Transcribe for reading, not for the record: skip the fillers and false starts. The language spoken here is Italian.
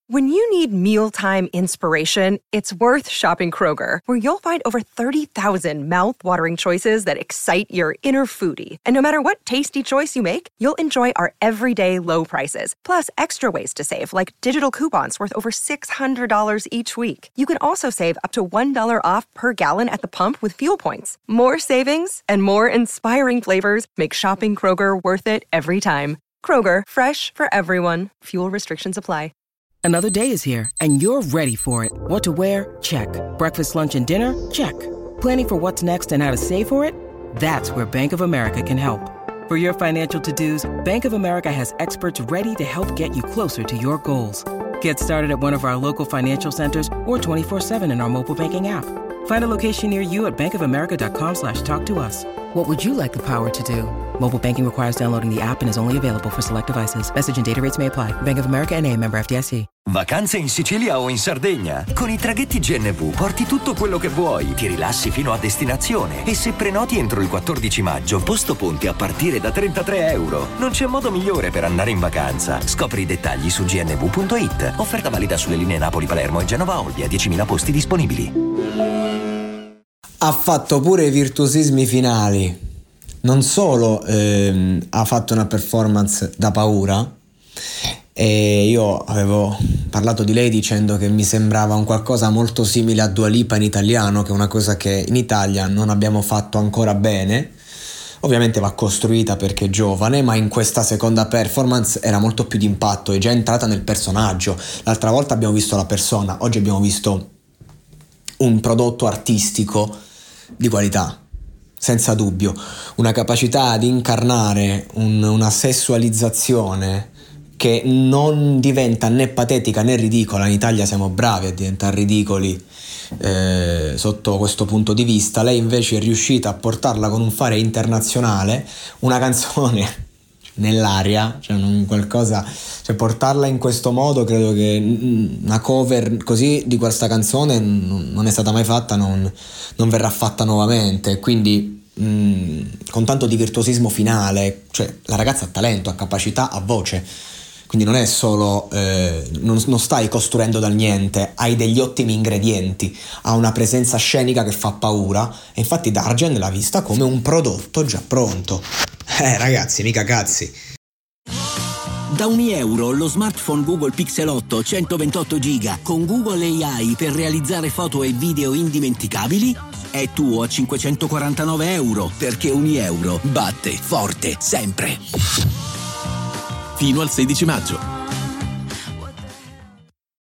When you need mealtime inspiration, it's worth shopping Kroger, where you'll find over 30,000 mouth-watering choices that excite your inner foodie. And no matter what tasty choice you make, you'll enjoy our everyday low prices, plus extra ways to save, like digital coupons worth over $600 each week. You can also save up to $1 off per gallon at the pump with fuel points. More savings and more inspiring flavors make shopping Kroger worth it every time. Kroger, fresh for everyone. Fuel restrictions apply. Another day is here, and you're ready for it. What to wear? Check. Breakfast, lunch, and dinner? Check. Planning for what's next and how to save for it? That's where Bank of America can help. For your financial to-dos, Bank of America has experts ready to help get you closer to your goals. Get started at one of our local financial centers or 24/7 in our mobile banking app. Find a location near you at bankofamerica.com/talktous. What would you like the power to do? Mobile banking requires downloading the app and is only available for select devices. Message and data rates may apply. Bank of America N.A., member FDIC. Vacanze in Sicilia o in Sardegna? Con i traghetti GNV porti tutto quello che vuoi, ti rilassi fino a destinazione e se prenoti entro il 14 maggio, posto ponti a partire da €33. Non c'è modo migliore per andare in vacanza. Scopri i dettagli su gnv.it. Offerta valida sulle linee Napoli-Palermo e Genova-Olbia, 10.000 posti disponibili. Ha fatto pure i virtuosismi finali. Non solo ha fatto una performance da paura, e io avevo parlato di lei dicendo che mi sembrava un qualcosa molto simile a Dua Lipa in italiano, che è una cosa che in Italia non abbiamo fatto ancora bene. Ovviamente va costruita perché è giovane, ma in questa seconda performance era molto più d'impatto, è già entrata nel personaggio. L'altra volta abbiamo visto la persona, oggi abbiamo visto un prodotto artistico di qualità, senza dubbio, una capacità di incarnare una sessualizzazione che non diventa né patetica né ridicola. In Italia siamo bravi a diventare ridicoli sotto questo punto di vista. Lei invece è riuscita a portarla con un fare internazionale, una canzone nell'aria, cioè qualcosa, cioè portarla in questo modo, credo che una cover così di questa canzone non è stata mai fatta, non verrà fatta nuovamente, quindi con tanto di virtuosismo finale, cioè la ragazza ha talento, ha capacità, ha voce, quindi non è solo non stai costruendo dal niente, hai degli ottimi ingredienti, ha una presenza scenica che fa paura, e infatti Dargen l'ha vista come un prodotto già pronto. Ragazzi, mica cazzi. Da €1 lo smartphone Google Pixel 8 128 GB con Google AI per realizzare foto e video indimenticabili è tuo a €549, perché €1 batte forte sempre. Fino al 16 maggio.